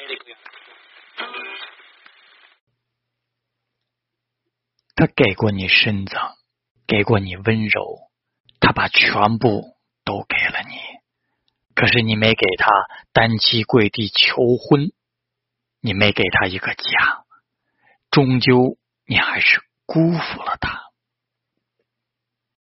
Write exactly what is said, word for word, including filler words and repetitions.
他给过你身子，给过你温柔，他把全部都给了你，可是你没给他单膝跪地求婚，你没给他一个家，终究你还是辜负了他。